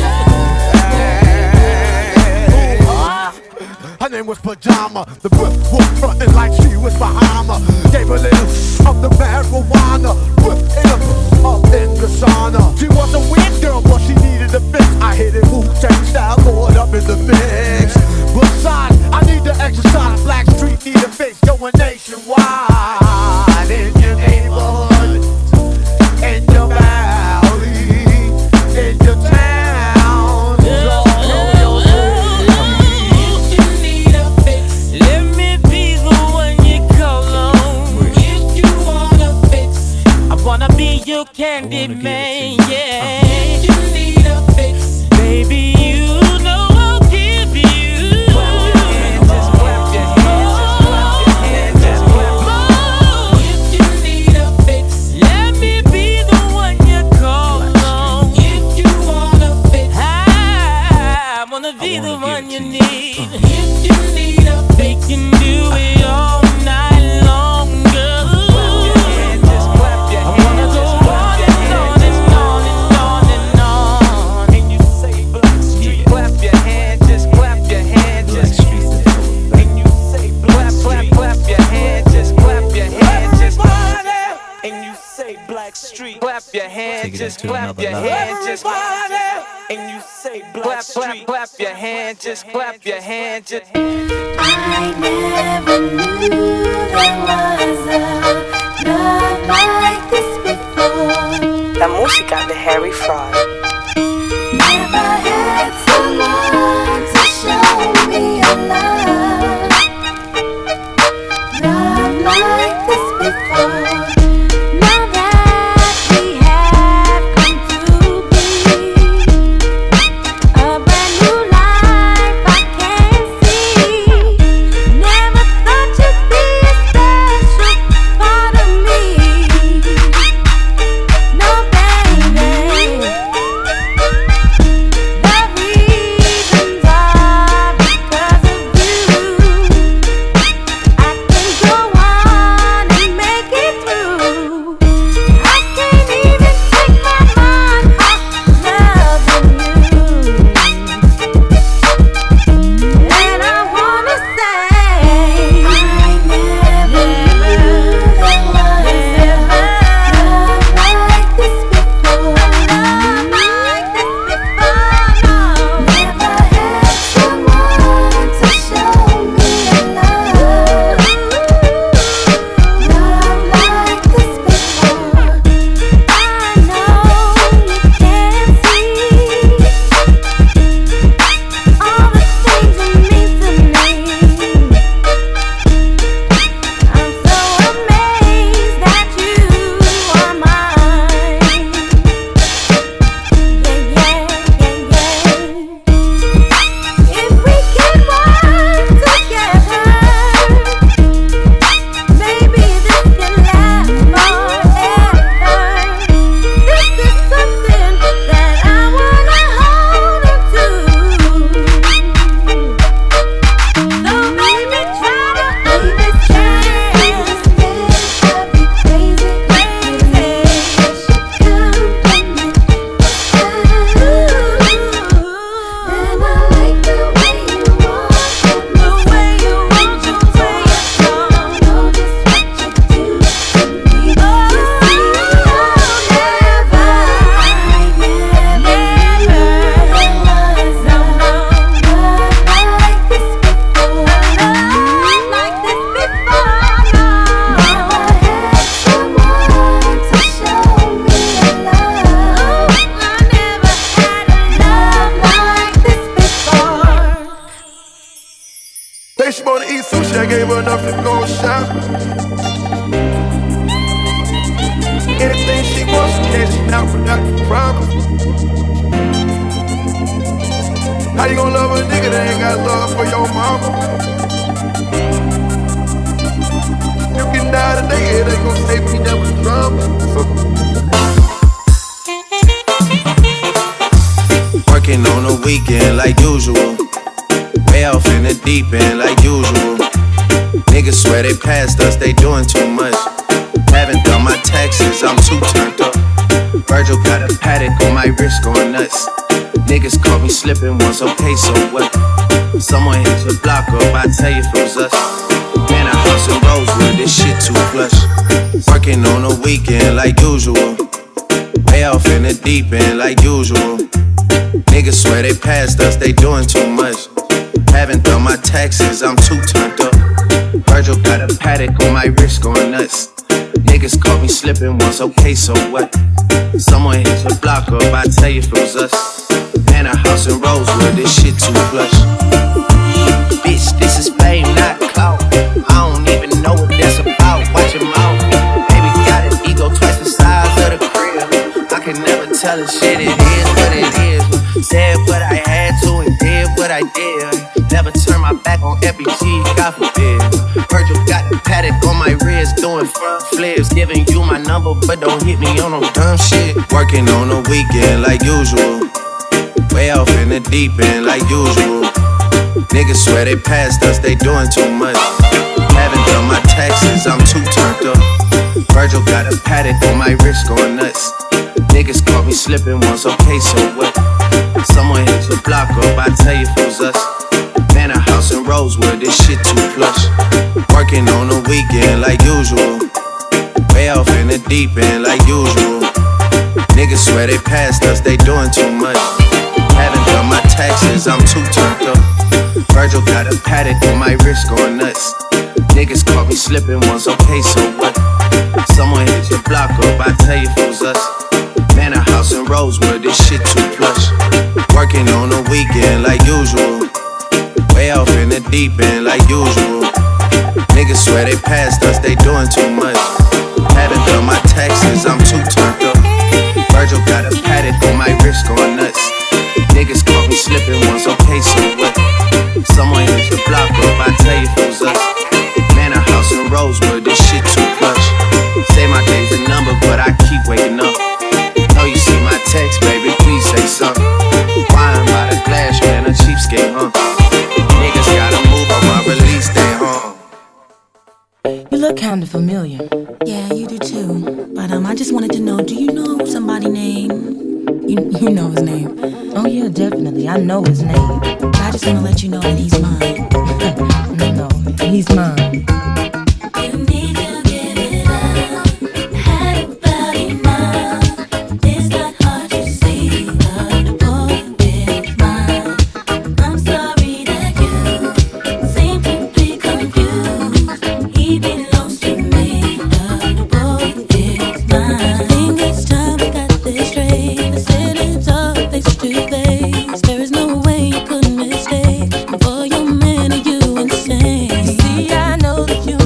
Her name was Pajama. The whip was frontin' like she was Bahama. Gave a little of the marijuana. Whip it up in the sauna. She was a weird girl, but she needed a fix. I hit it Wu-Tang style, throw it up in the mix. Besides, I need to exercise. Black Street need a fix, going nationwide. In your neighborhood, in your valley, in your town. If you need a fix, Let me be the one you call on. if you wanna fix, I wanna be your candy man, yeah. if you need a fix, Baby, you know I'll give you. just clap your hand, just clap your hand, just clap. If you need a fix, Let me be the one you call on. if you wanna fix, I wanna be the one you need. if you need a We fix, can do it all night long, girl. just clap your I hand, wanna go just clap on your and hand, on and on and on and on. and you say Black Street. Clap your hand, just clap your hand, just and you say Black Street. Clap your hand, just clap your hand, just and you say Black Street. Clap your hand, just clap your hand, just and you say Black Street. Clap your hand, just clap your hand, just. I never knew there was a love like this before. La música de Harry Fraud. Never had someone to show me a love like this before. Now that we have come to be a brand new life I can see. Never thought you'd be a star. enough to go shop. Anything she wants, she cashing out without the problem. How you gonna love a nigga that ain't got love for your mama? You can die today, it ain't gonna save me that with drama. Working on the weekend like usual. Way off in the deep end like usual. Niggas swear they passed us, they doing too much. Haven't done my taxes, I'm too turned up. Virgil got a paddock on my wrist going nuts. Niggas caught me slipping once, okay, so what? Someone hit your block up, I tell you if it was us. Man, a house in Rosewood, this shit too plush. Working on the weekend like usual. Way off in the deep end like usual. Niggas swear they passed us, they doing too much. Haven't done my taxes, I'm too turned up. Virgil got a paddock on my wrist going nuts. Niggas caught me slipping once, okay, so what? Someone hit your block up, I tell you if it was us. Man, a house in Rosewood, this shit too plush. Bitch, this is fame, not clout. I don't even know what that's about, watch your mouth. Baby got an ego twice the size of the crib. I can never tell a shit, it is what it is. Said what I had to and did what I did. Never turn my back on FBG, God forbid. Virgil got the paddock on my wrist, doing front flips. Giving you my number, but don't hit me on no dumb shit. Working on the weekend like usual. Way off in the deep end like usual. Niggas swear they passed us, they doing too much. Haven't done my taxes, I'm too turned up. Virgil got a paddock on my wrist going nuts. Niggas caught me slipping once, okay, so what? Someone hit your block up, I tell you if it was us. Man, a house in Rosewood, this shit too plush. Working on the weekend like usual. Way off in the deep end like usual. Niggas swear they passed us, they doing too much. Haven't done my taxes, I'm too turned up. Virgil got a paddock on my wrist going nuts. Niggas caught me slipping once, okay, so what? Someone hit your block up, I tell you if it was us. Man, a house in Rosewood, this shit too plush. Working on the weekend like usual. Way off in the deep end like usual. Niggas swear they passed us, they doing too much. Haven't done my taxes, I'm too turned up. Virgil got a paddock on my wrist going nuts. Niggas caught me slipping once, okay, so what? Someone hit your block up, I tell you if it was us. Man, a house in Rosewood, this shit too plush. Say my day's a number, but I keep waking up. Know you see my text, baby, please say something. Wine by the glass, man, a cheapskate, huh? Niggas gotta move on my release day, huh? You look kinda familiar. Yeah, you do too. But I just wanted to know, do you know somebody named? You know his name. Oh yeah, definitely. I know his name. I just wanna let you know that he's mine. No, he's mine. For your man, are you insane? See, I know that you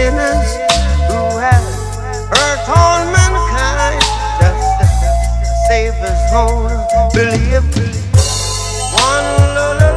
sinners who have hurt all mankind. Just the Savior's own belief. One little